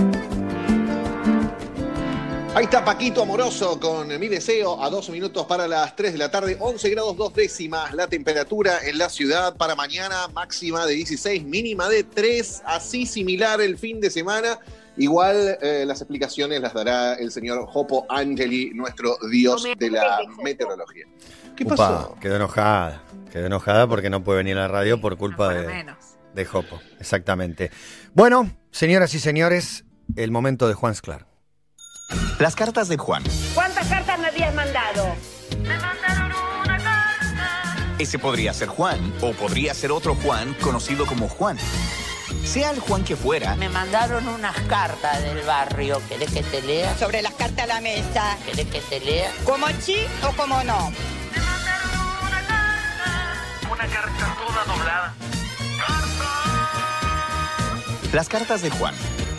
Ahí está Paquito Amoroso con Mi Deseo a 12 minutos para las 3 de la tarde, 11 grados 2 décimas la temperatura en la ciudad para mañana, máxima de 16, mínima de 3, así similar el fin de semana. Igual las explicaciones las dará el señor Jopo Angeli, nuestro dios de la meteorología. ¿Qué pasó? Quedó enojada porque no puede venir a la radio por culpa de Jopo, exactamente. Bueno, señoras y señores, el momento de Juan Sclar. Las cartas de Juan. ¿Cuántas cartas me habías mandado? Me mandaron una carta. Ese podría ser Juan, o podría ser otro Juan conocido como Juan. Sea el Juan que fuera. Me mandaron unas cartas del barrio. ¿Querés que te lea? Sobre las cartas a la mesa. ¿Querés que te lea? ¿Como sí o como no? Me mandaron una carta toda doblada. Las cartas de Juan.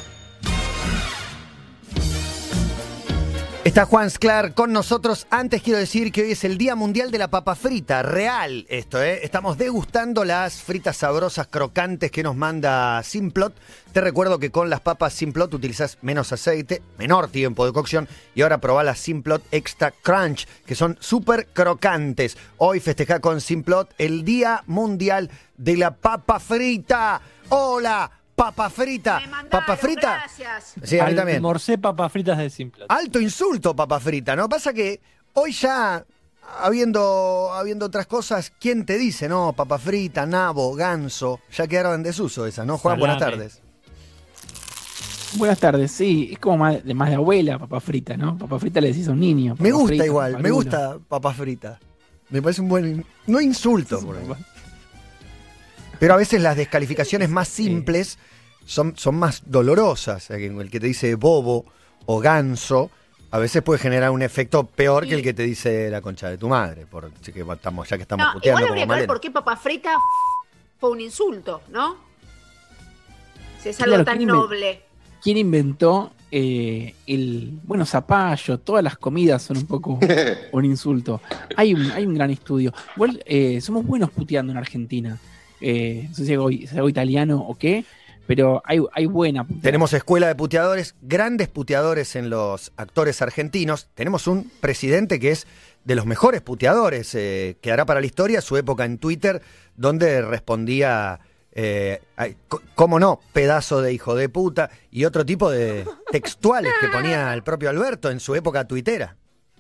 Está Juan Sclar con nosotros. Antes quiero decir que hoy es el Día Mundial de la Papa Frita. Real esto, ¿eh? Estamos degustando las fritas sabrosas, crocantes que nos manda Simplot. Te recuerdo que con las papas Simplot utilizás menos aceite, menor tiempo de cocción. Y ahora probá las Simplot Extra Crunch, que son súper crocantes. Hoy festejá con Simplot el Día Mundial de la Papa Frita. ¡Hola! Papa frita. Papa frita. Gracias. Sí, a mí también. Almorcé papas fritas de Simplot. Alto insulto, papa frita, ¿no? Pasa que hoy ya, habiendo otras cosas, ¿quién te dice, no? Papa frita, nabo, ganso, ya quedaron en desuso esas, ¿no? Juan, buenas tardes. Buenas tardes, sí. Es como más de abuela, papa frita, ¿no? Papa frita le decís a un niño. Me gusta frita, igual, me gusta papa frita. Me parece un buen... No insulto, por ahí. Pero a veces las descalificaciones más simples son más dolorosas. El que te dice bobo o ganso a veces puede generar un efecto peor que el que te dice la concha de tu madre. Ya que estamos puteando igual como habría que ver por qué papa frita fue un insulto, ¿no? Si es algo tan noble. ¿Quién inventó bueno, zapallo? Todas las comidas son un poco un insulto. Hay un gran estudio. Igual somos buenos puteando en Argentina. No sé si es algo italiano o qué, pero hay buena puteada. Tenemos escuela de puteadores, grandes puteadores en los actores argentinos. Tenemos un presidente que es de los mejores puteadores, que hará para la historia su época en Twitter, donde respondía, ¿cómo no? Pedazo de hijo de puta, y otro tipo de textuales que ponía el propio Alberto en su época tuitera.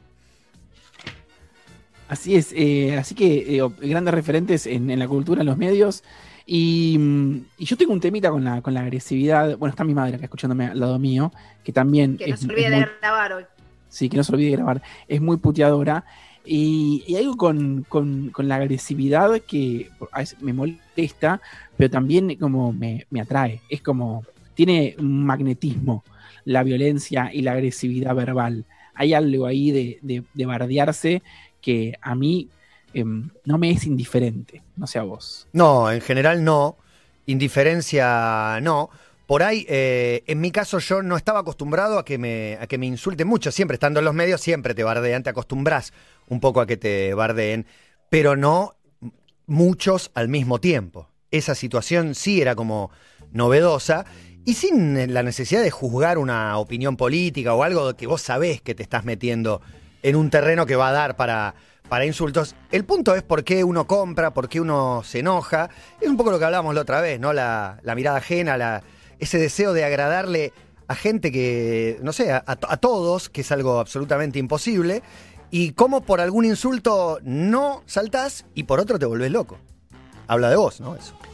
Así es, así que grandes referentes en la cultura, en los medios. Y yo tengo un temita con la agresividad. Bueno, está mi madre acá escuchándome al lado mío, que también... Que no se olvide de grabar hoy. Sí, que no se olvide de grabar. Es muy puteadora. Y algo con la agresividad que a veces me molesta, pero también como me atrae. Es como... Tiene un magnetismo la violencia y la agresividad verbal. Hay algo ahí de bardearse que a mí no me es indiferente, no sé a vos. No, en general no, indiferencia no. Por ahí, en mi caso yo no estaba acostumbrado a que me insulten mucho, siempre estando en los medios, siempre te bardean, te acostumbras un poco a que te bardeen, pero no muchos al mismo tiempo. Esa situación sí era como novedosa y sin la necesidad de juzgar una opinión política o algo que vos sabés que te estás metiendo en un terreno que va a dar para insultos. El punto es por qué uno compra, por qué uno se enoja. Es un poco lo que hablábamos la otra vez, ¿no? La mirada ajena, ese deseo de agradarle a gente que, no sé, a todos, que es algo absolutamente imposible, y cómo por algún insulto no saltás y por otro te volvés loco. Habla de vos, ¿no? Eso.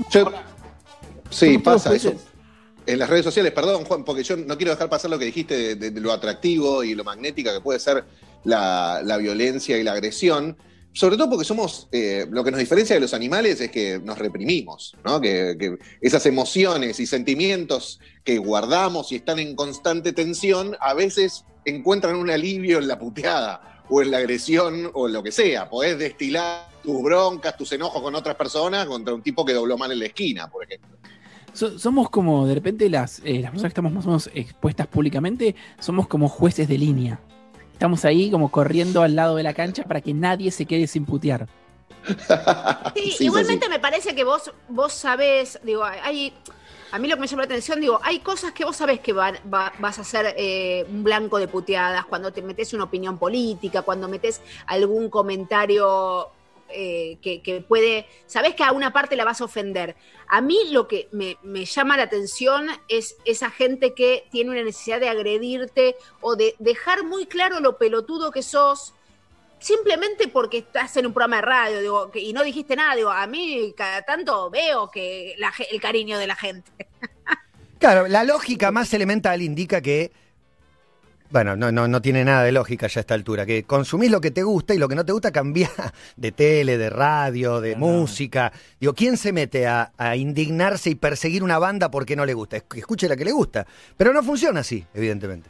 Sí, pasa eso. En las redes sociales, perdón, Juan, porque yo no quiero dejar pasar lo que dijiste de lo atractivo y lo magnética que puede ser la violencia y la agresión, sobre todo porque somos, lo que nos diferencia de los animales es que nos reprimimos, ¿no? Que esas emociones y sentimientos que guardamos y están en constante tensión, a veces encuentran un alivio en la puteada o en la agresión o en lo que sea. Podés destilar tus broncas, tus enojos con otras personas contra un tipo que dobló mal en la esquina, por ejemplo. Somos como, de repente, las personas que estamos más o menos expuestas públicamente, somos como jueces de línea. Estamos ahí como corriendo al lado de la cancha para que nadie se quede sin putear. Sí, igualmente me parece que vos sabés, digo, hay A mí lo que me llama la atención, digo, hay cosas que vos sabés que vas a ser un blanco de puteadas, cuando te metes una opinión política, cuando metes algún comentario que puede, sabés que a una parte la vas a ofender. A mí lo que me llama la atención es esa gente que tiene una necesidad de agredirte o de dejar muy claro lo pelotudo que sos, simplemente porque estás en un programa de radio, digo, y no dijiste nada. Digo, a mí cada tanto veo que el cariño de la gente. Claro, la lógica más elemental indica que, bueno, no tiene nada de lógica ya a esta altura, que consumís lo que te gusta y lo que no te gusta cambia de tele, de radio, de música. Digo, ¿quién se mete a indignarse y perseguir una banda porque no le gusta? Escuche la que le gusta. Pero no funciona así, evidentemente.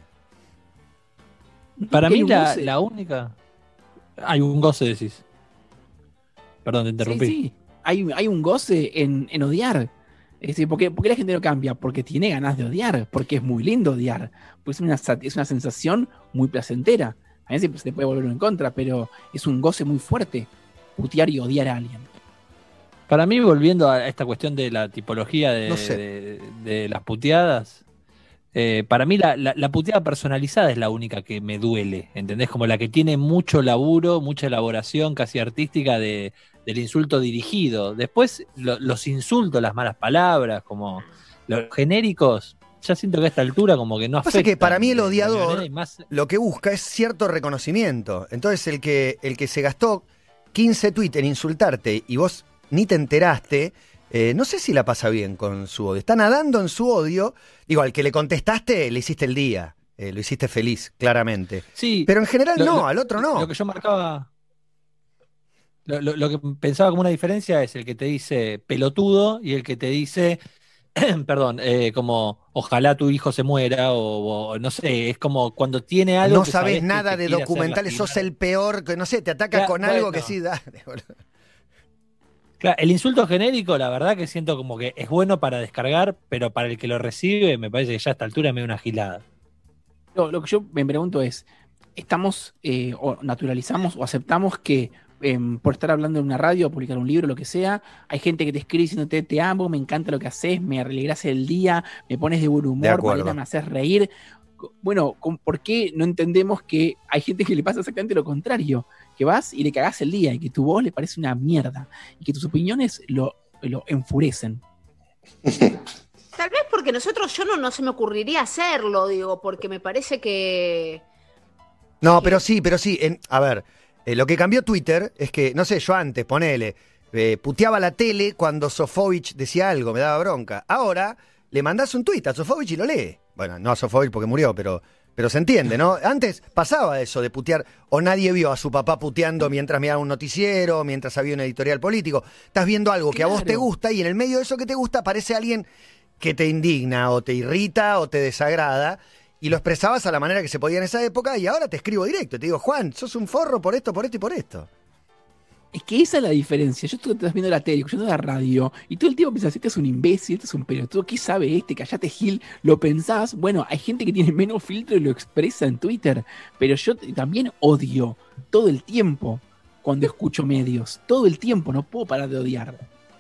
Para mí la única... Hay un goce, decís. Perdón, te interrumpí. Sí. Hay un goce en odiar. Es decir, ¿por qué la gente no cambia? Porque tiene ganas de odiar, porque es muy lindo odiar. Pues es una sensación muy placentera. A veces se le puede volver en contra, pero es un goce muy fuerte putear y odiar a alguien. Para mí, volviendo a esta cuestión de la tipología No sé. de las puteadas, para mí la puteada personalizada es la única que me duele, ¿entendés? Como la que tiene mucho laburo, mucha elaboración casi artística del insulto dirigido. Después los insultos, las malas palabras, como los genéricos, ya siento que a esta altura como que no afectan. Pasa que para mí el de odiador manera y más... lo que busca es cierto reconocimiento. Entonces el que se gastó 15 tweets en insultarte y vos ni te enteraste... no sé si la pasa bien con su odio. Está nadando en su odio. Digo, al que le contestaste, le hiciste el día. Lo hiciste feliz, claramente. Sí, pero en general al otro no. Lo que yo marcaba... Lo que pensaba como una diferencia es el que te dice pelotudo y el que te dice, perdón, como ojalá tu hijo se muera o no sé, es como cuando tiene algo no que sabés nada de quiere hacer documentales, sos lastimar. el peor, que no sé, te ataca Ya, con algo bueno. que sí, dale, boludo. Claro, el insulto genérico, la verdad que siento como que es bueno para descargar, pero para el que lo recibe me parece que ya a esta altura me da una gilada. Lo que yo me pregunto es, ¿estamos o naturalizamos o aceptamos que por estar hablando en una radio, publicar un libro, lo que sea, hay gente que te escribe diciéndote te amo, me encanta lo que haces, me alegrás el día, me pones de buen humor, acuerdo. Malena, me haces reír? Bueno, ¿por qué no entendemos que hay gente que le pasa exactamente lo contrario? Que vas y le cagás el día y que tu voz le parece una mierda y que tus opiniones lo enfurecen. Tal vez porque yo no se me ocurriría hacerlo, digo, porque me parece que... No, pero sí. A ver, lo que cambió Twitter es que, no sé, yo antes, ponele, puteaba la tele cuando Sofovich decía algo, me daba bronca. Ahora le mandás un tuit a Sofovich y lo lee. Bueno, no a Sofovich porque murió, pero se entiende, ¿no? Antes pasaba eso de putear, o nadie vio a su papá puteando mientras miraba un noticiero, mientras había un editorial político. Estás viendo algo que a vos te gusta y en el medio de eso que te gusta aparece alguien que te indigna o te irrita o te desagrada y lo expresabas a la manera que se podía en esa época y ahora te escribo directo. Te digo, Juan, sos un forro por esto, por esto y por esto. Es que esa es la diferencia. Yo estoy viendo la tele, escuchando la radio, y todo el tiempo pensás, este es un imbécil, este es un pelotudo, ¿qué sabe este? Callate, Gil. Lo pensás. Bueno, hay gente que tiene menos filtro y lo expresa en Twitter, pero yo también odio todo el tiempo cuando escucho medios. Todo el tiempo, no puedo parar de odiar.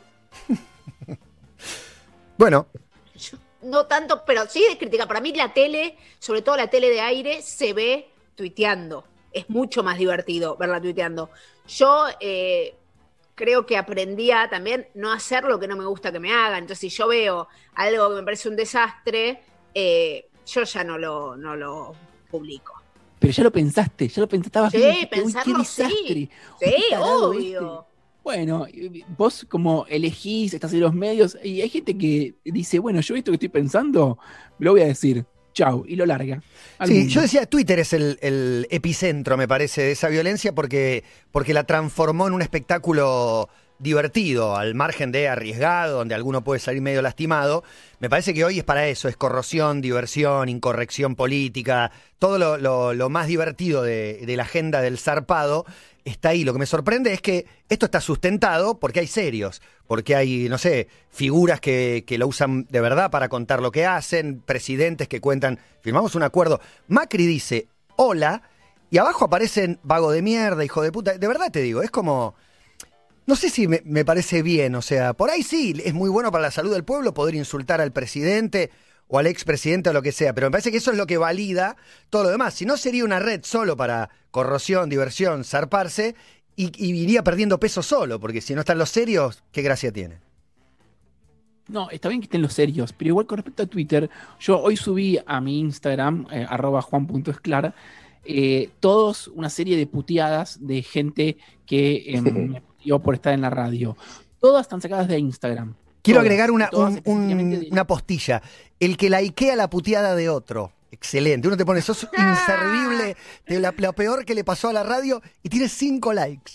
Bueno. Yo no tanto, pero sí de crítica. Para mí la tele, sobre todo la tele de aire, se ve tuiteando. Es mucho más divertido verla tuiteando. Yo creo que aprendí a también no hacer lo que no me gusta que me hagan. Entonces, si yo veo algo que me parece un desastre, yo ya no lo publico. Pero ya lo pensaste, estabas Sí, viendo, pensarlo qué desastre. sí. Qué Sí, tarado obvio. Bueno, vos como elegís, estás en los medios, y hay gente que dice, bueno, yo esto que estoy pensando, lo voy a decir, chau, y lo larga. Sí, yo decía, Twitter es el epicentro, me parece, de esa violencia porque la transformó en un espectáculo divertido, al margen de arriesgado, donde alguno puede salir medio lastimado. Me parece que hoy es para eso, es corrosión, diversión, incorrección política, todo lo más divertido de la agenda del zarpado está ahí. Lo que me sorprende es que esto está sustentado porque hay serios, porque hay, no sé, figuras que lo usan de verdad para contar lo que hacen, presidentes que cuentan, firmamos un acuerdo. Macri dice, hola, y abajo aparecen vago de mierda, hijo de puta. De verdad te digo, es como... No sé si me parece bien, o sea, por ahí sí, es muy bueno para la salud del pueblo poder insultar al presidente o al expresidente o lo que sea, pero me parece que eso es lo que valida todo lo demás. Si no, sería una red solo para corrosión, diversión, zarparse, y iría perdiendo peso solo, porque si no están los serios, ¿qué gracia tiene? No, está bien que estén los serios, pero igual con respecto a Twitter, yo hoy subí a mi Instagram, @juan.esclar, todos una serie de puteadas de gente que me puteó por estar en la radio. Todas están sacadas de Instagram. Quiero Todas, agregar todas específicamente de- una postilla. El que likea la puteada de otro. Excelente. Uno te pone, sos inservible, lo peor que le pasó a la radio, y tienes 5 likes.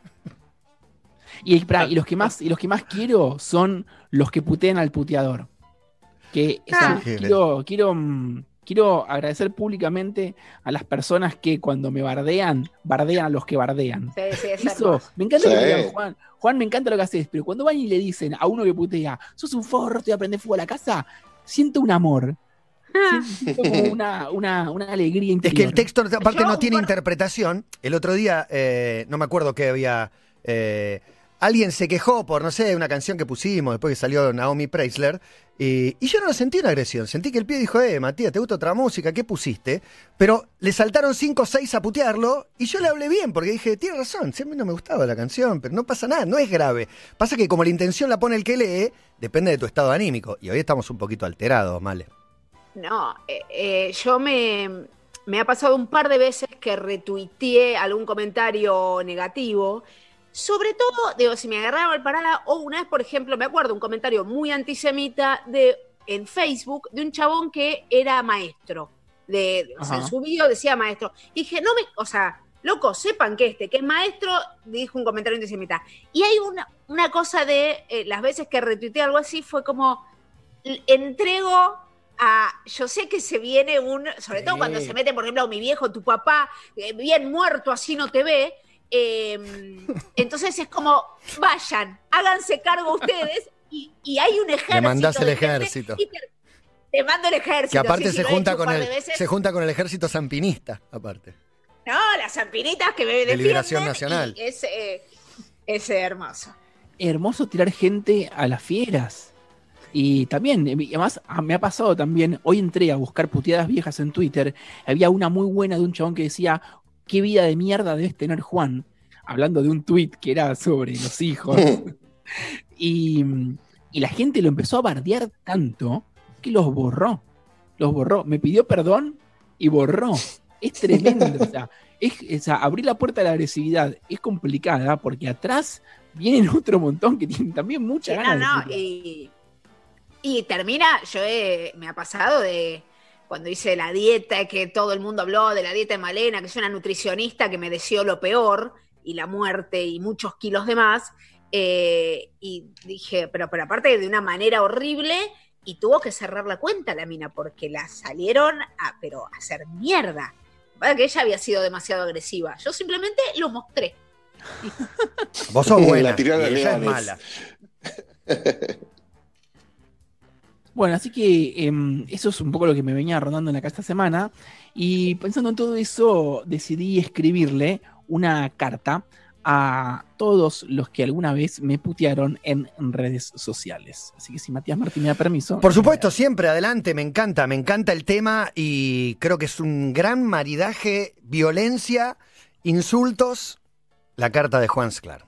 Y los que más quiero son los que putean al puteador. Que, o sea, quiero agradecer públicamente a las personas que cuando me bardean a los que bardean. Sí, sí, es Eso, hermoso. me encanta lo que Sí. digan, Juan. Juan, me encanta lo que haces, pero cuando van y le dicen a uno que putea, sos un forro, te voy a prender fuego a la casa, siento un amor. Siento como una alegría Es interior. que el texto, aparte, Yo, no tiene por- interpretación. El otro día, no me acuerdo qué había. Alguien se quejó por, no sé, una canción que pusimos después que salió Naomi Preisler. Y yo no lo sentí una agresión. Sentí que el pibe dijo, Matías, ¿te gusta otra música? ¿Qué pusiste? Pero le saltaron 5 o 6 a putearlo. Y yo le hablé bien, porque dije, tiene razón, si a mí no me gustaba la canción, pero no pasa nada, no es grave. Pasa que como la intención la pone el que lee, depende de tu estado anímico. Y hoy estamos un poquito alterados, Male. No, yo me ha pasado un par de veces que retuiteé algún comentario negativo. Sobre todo, digo, si me agarraron al parada, o una vez, por ejemplo, me acuerdo un comentario muy antisemita en Facebook de un chabón que era maestro. O sea, en Ajá. su video decía maestro. Y dije, o sea, loco, sepan que es maestro, dijo un comentario antisemita. Y hay una cosa de las veces que retuiteé algo así, fue como, entrego yo sé que se viene sobre todo cuando se mete, por ejemplo, mi viejo, tu papá, bien muerto, así no te ve. Entonces es como, vayan, háganse cargo ustedes, y hay un ejército. Le mandás el de gente, ejército. y te mando el ejército. Que aparte sí, se lo he junta hecho un con par el de veces. se junta con el ejército zampinista, aparte. No, las zampinitas que me defienden. Liberación Nacional. Y es hermoso. Hermoso tirar gente a las fieras. Y también, además, me ha pasado también, hoy entré a buscar puteadas viejas en Twitter, había una muy buena de un chabón que decía, qué vida de mierda debes tener, Juan, hablando de un tweet que era sobre los hijos. y la gente lo empezó a bardear tanto que los borró, me pidió perdón y borró. Es tremendo, o sea, abrir la puerta de la agresividad es complicada porque atrás vienen otro montón que tienen también mucha ganas de putear. Y termina, me ha pasado de cuando hice la dieta, que todo el mundo habló de la dieta de Malena, que es una nutricionista que me deseó lo peor, y la muerte, y muchos kilos de más, y dije, pero aparte de una manera horrible, y tuvo que cerrar la cuenta la mina, porque la salieron a hacer mierda. Que ella había sido demasiado agresiva. Yo simplemente lo mostré. Vos sos buena, La tiró a y los ella es leones. mala. Bueno, así que eso es un poco lo que me venía rondando en la casa esta semana. Y pensando en todo eso, decidí escribirle una carta a todos los que alguna vez me putearon en redes sociales. Así que si Matías Martín me da permiso. Por supuesto, siempre adelante, me encanta el tema y creo que es un gran maridaje, violencia, insultos, la carta de Juan Sclar.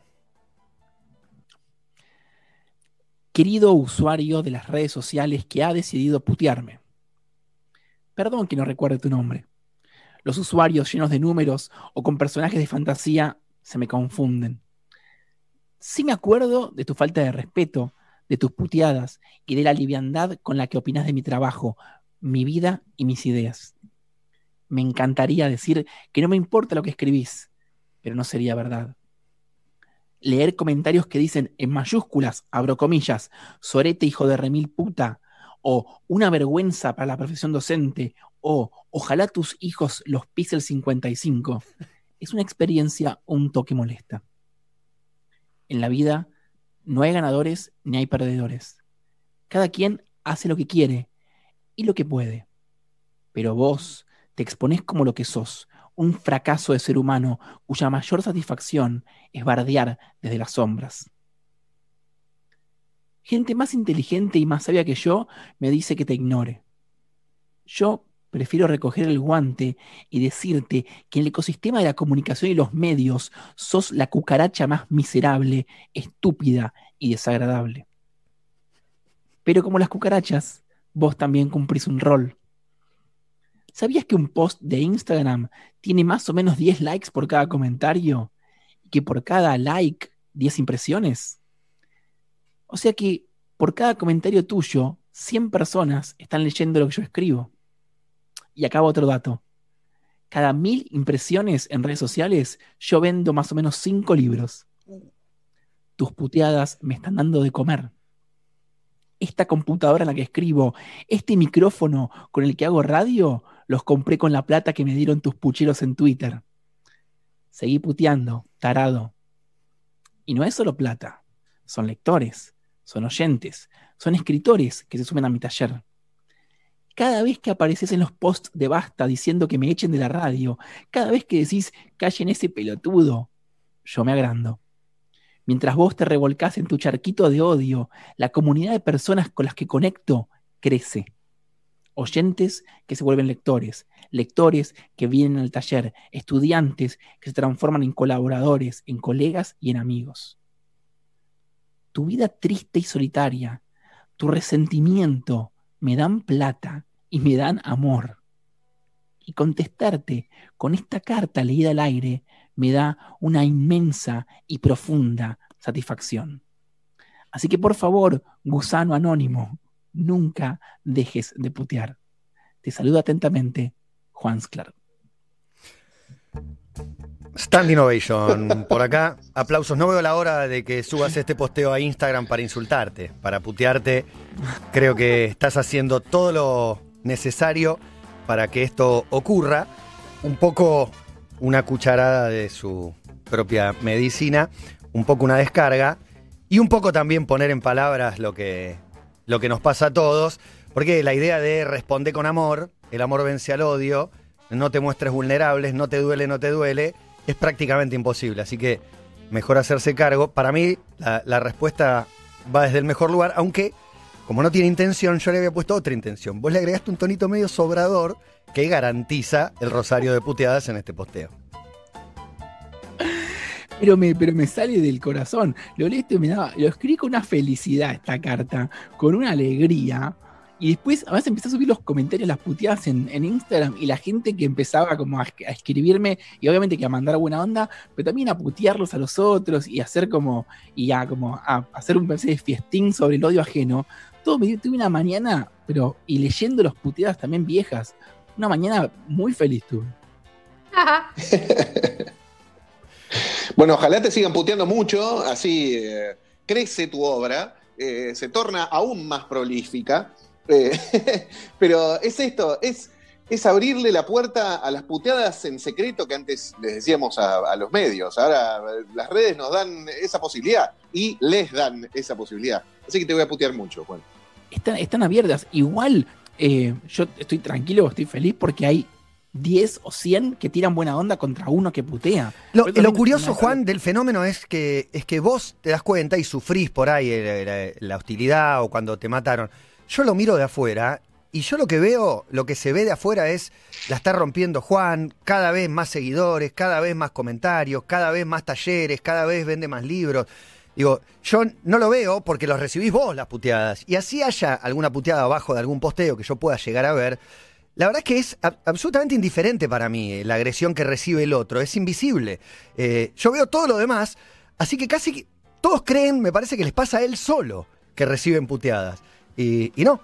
Querido usuario de las redes sociales que ha decidido putearme. Perdón que no recuerde tu nombre. Los usuarios llenos de números o con personajes de fantasía se me confunden. Sí me acuerdo de tu falta de respeto, de tus puteadas y de la liviandad con la que opinas de mi trabajo, mi vida y mis ideas. Me encantaría decir que no me importa lo que escribís, pero no sería verdad. Leer comentarios que dicen en mayúsculas, abro comillas, sorete hijo de remil puta, o una vergüenza para la profesión docente, o ojalá tus hijos los pise el 55, es una experiencia un toque molesta. En la vida no hay ganadores ni hay perdedores. Cada quien hace lo que quiere y lo que puede. Pero vos te exponés como lo que sos, un fracaso de ser humano cuya mayor satisfacción es bardear desde las sombras. Gente más inteligente y más sabia que yo me dice que te ignore. Yo prefiero recoger el guante y decirte que en el ecosistema de la comunicación y los medios sos la cucaracha más miserable, estúpida y desagradable. Pero como las cucarachas, vos también cumplís un rol. ¿Sabías que un post de Instagram tiene más o menos 10 likes por cada comentario? Y que por cada like, 10 impresiones. O sea que por cada comentario tuyo, 100 personas están leyendo lo que yo escribo. Y acá va otro dato. Cada 1000 impresiones en redes sociales, yo vendo más o menos 5 libros. Tus puteadas me están dando de comer. Esta computadora en la que escribo, este micrófono con el que hago radio, los compré con la plata que me dieron tus pucheros en Twitter. Seguí puteando, tarado. Y no es solo plata. Son lectores, son oyentes, son escritores que se sumen a mi taller. Cada vez que apareces en los posts de Basta diciendo que me echen de la radio, cada vez que decís callen ese pelotudo, yo me agrando. Mientras vos te revolcás en tu charquito de odio, la comunidad de personas con las que conecto crece. Oyentes que se vuelven lectores, lectores que vienen al taller, estudiantes que se transforman en colaboradores, en colegas y en amigos. Tu vida triste y solitaria, tu resentimiento, me dan plata y me dan amor. Y contestarte con esta carta leída al aire me da una inmensa y profunda satisfacción. Así que por favor, gusano anónimo, nunca dejes de putear. Te saluda atentamente, Juan Sclar. Standing ovation por acá. Aplausos. No veo la hora de que subas este posteo a Instagram para insultarte, para putearte. Creo que estás haciendo todo lo necesario para que esto ocurra. Un poco una cucharada de su propia medicina, un poco una descarga y un poco también poner en palabras lo que nos pasa a todos, porque la idea de responder con amor, el amor vence al odio, no te muestres vulnerables, no te duele, es prácticamente imposible, así que mejor hacerse cargo. Para mí la respuesta va desde el mejor lugar, aunque como no tiene intención, yo le había puesto otra intención. Vos le agregaste un tonito medio sobrador que garantiza el rosario de puteadas en este posteo. Pero me sale del corazón. Lo leí y lo escribí con una felicidad esta carta, con una alegría. Y después, además, empecé a subir los comentarios, las puteadas en Instagram, y la gente que empezaba como a escribirme, y obviamente que a mandar buena onda, pero también a putearlos a los otros, y a hacer como a hacer un especie de fiestín sobre el odio ajeno. Tuve una mañana, y leyendo los puteadas también viejas, una mañana muy feliz tuve. Bueno, ojalá te sigan puteando mucho, así crece tu obra, se torna aún más prolífica. Pero es esto, es abrirle la puerta a las puteadas en secreto que antes les decíamos a los medios. Ahora las redes nos dan esa posibilidad y les dan esa posibilidad. Así que te voy a putear mucho, Juan. Están abiertas. Igual yo estoy tranquilo, estoy feliz porque hay 10 o 100 que tiran buena onda contra uno que putea. Lo curioso, Juan, del fenómeno es que vos te das cuenta y sufrís por ahí la hostilidad o cuando te mataron. Yo lo miro de afuera y yo lo que veo, lo que se ve de afuera es la está rompiendo Juan, cada vez más seguidores, cada vez más comentarios, cada vez más talleres, cada vez vende más libros. Digo, yo no lo veo porque los recibís vos las puteadas. Y así haya alguna puteada abajo de algún posteo que yo pueda llegar a ver, la verdad es que es absolutamente indiferente para mí la agresión que recibe el otro, es invisible. Yo veo todo lo demás, así que casi todos creen, me parece que les pasa a él solo, que reciben puteadas. Y no.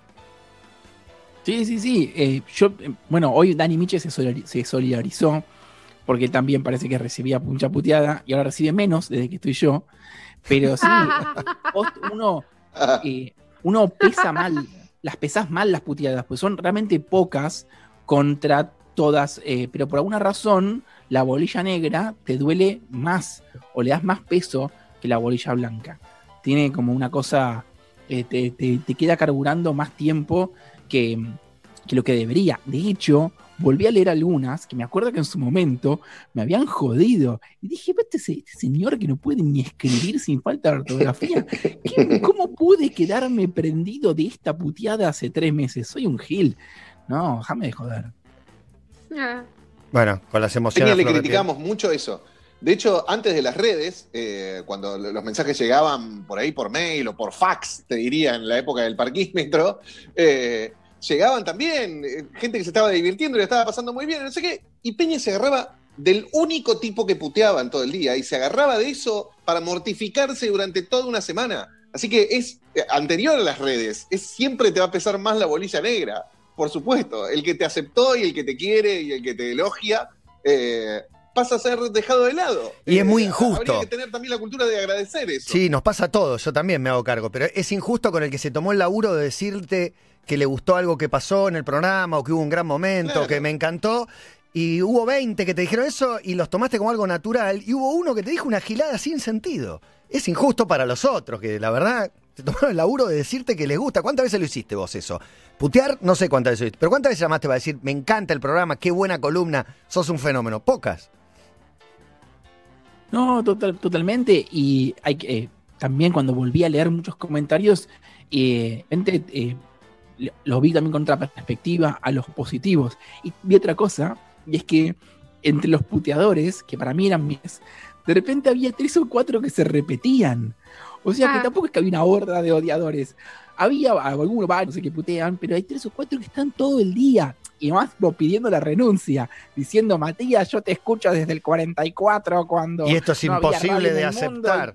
Sí. Hoy Dani Miche se solidarizó porque él también parece que recibía mucha puteada y ahora recibe menos desde que estoy yo. Pero sí, uno pesa mal, las pesás mal las puteadas, pues son realmente pocas contra todas, pero por alguna razón la bolilla negra te duele más o le das más peso que la bolilla blanca. Tiene como una cosa... Te queda carburando más tiempo que lo que debería. De hecho, volví a leer algunas que me acuerdo que en su momento me habían jodido. Y dije, este señor que no puede ni escribir sin falta de ortografía, ¿cómo pude quedarme prendido de esta puteada hace 3 meses? Soy un gil. No, déjame de joder. Bueno, con las emociones. Le criticamos mucho eso. De hecho, antes de las redes, cuando los mensajes llegaban por ahí por mail o por fax, te diría, en la época del parquímetro, llegaban también gente que se estaba divirtiendo y le estaba pasando muy bien, no sé qué, y Peña se agarraba del único tipo que puteaban todo el día, y se agarraba de eso para mortificarse durante toda una semana. Así que es anterior a las redes, siempre te va a pesar más la bolilla negra, por supuesto. El que te aceptó y el que te quiere y el que te elogia, pasa a ser dejado de lado. Y es muy injusto. Habría que tener también la cultura de agradecer eso. Sí, nos pasa a todos, yo también me hago cargo, pero es injusto con el que se tomó el laburo de decirte que le gustó algo que pasó en el programa o que hubo un gran momento, claro, que me encantó, y hubo 20 que te dijeron eso y los tomaste como algo natural, y hubo uno que te dijo una gilada sin sentido. Es injusto para los otros, que la verdad se tomaron el laburo de decirte que les gusta. ¿Cuántas veces lo hiciste vos eso? Putear, no sé cuántas veces lo hiciste, pero ¿cuántas veces llamaste para decir, me encanta el programa, qué buena columna, sos un fenómeno? Pocas. No, totalmente. Y hay que también cuando volví a leer muchos comentarios, los vi también con otra perspectiva, a los positivos. Y vi otra cosa, y es que entre los puteadores, que para mí eran míos, de repente había 3 o 4 que se repetían. O sea que tampoco es que había una horda de odiadores. Había algunos varios que putean, pero hay 3 o 4 que están todo el día. Y más pidiendo la renuncia, diciendo, Matías, yo te escucho desde el 44 cuando... Y esto es no imposible de aceptar.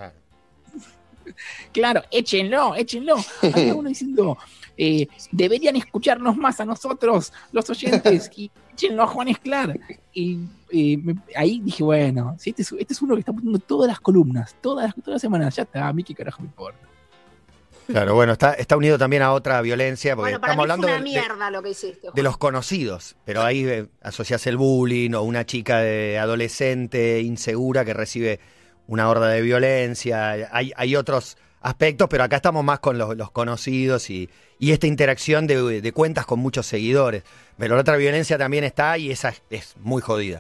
Claro, échenlo. Había uno diciendo, deberían escucharnos más a nosotros, los oyentes, y échenlo a Juan Esclar. Y ahí dije, bueno, si este es uno que está poniendo todas las columnas, todas las semanas, ya está, a mí qué carajo me importa. Claro, bueno, está unido también a otra violencia, porque para estamos mí hablando fue una mierda lo que hiciste, Juan. de los conocidos, pero ahí asociás el bullying o una chica de adolescente insegura que recibe una horda de violencia. Hay otros aspectos, pero acá estamos más con los conocidos y esta interacción de cuentas con muchos seguidores. Pero la otra violencia también está y esa es muy jodida.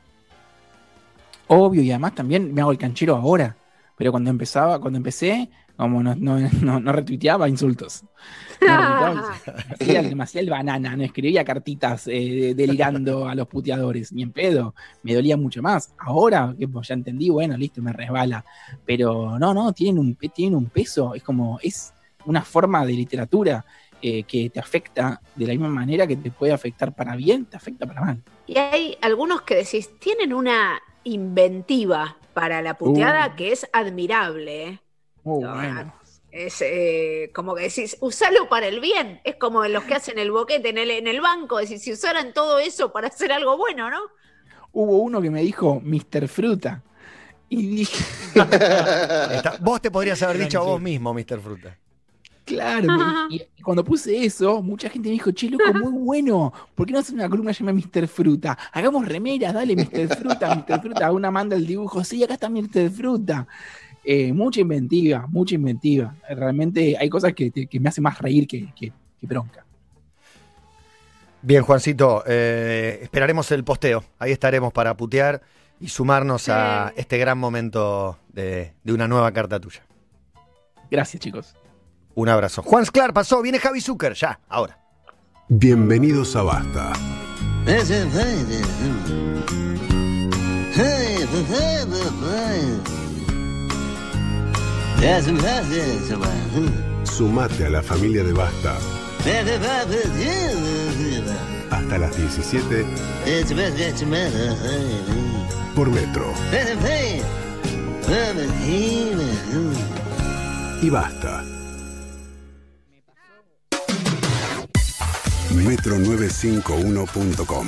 Obvio, y además también me hago el canchero ahora, pero cuando empecé, como no retuiteaba insultos. Hacía demasiado el banana, no escribía cartitas delirando a los puteadores, ni en pedo. Me dolía mucho más. Ahora, que ya entendí, bueno, listo, me resbala. Pero no, tienen un peso. Es una forma de literatura que te afecta de la misma manera que te puede afectar para bien, te afecta para mal. Y hay algunos que decís, tienen una inventiva para la puteada que es admirable, Bueno. Es como que decís, usalo para el bien. Es como los que hacen el boquete en el banco, decís, si usaran todo eso para hacer algo bueno, ¿no? Hubo uno que me dijo Mr. Fruta. Y dije... Vos te podrías haber dicho a vos mismo, Mr. Fruta. Claro, y cuando puse eso, mucha gente me dijo, che, loco, muy bueno, ¿por qué no haces una columna llamada Mr. Fruta? Hagamos remeras, dale, Mr. Fruta, una manda el dibujo, sí, acá está Mr. Fruta. Mucha inventiva. Realmente hay cosas que me hacen más reír que bronca. Bien, Juancito, esperaremos el posteo. Ahí estaremos para putear y sumarnos a este gran momento de una nueva carta tuya. Gracias, chicos. Un abrazo. Juan Esclar pasó, viene Javi Zucker, ya, ahora. Bienvenidos a Basta. Sumate a la familia de Basta. Hasta las 17 por Metro. Y Basta. Metro951.com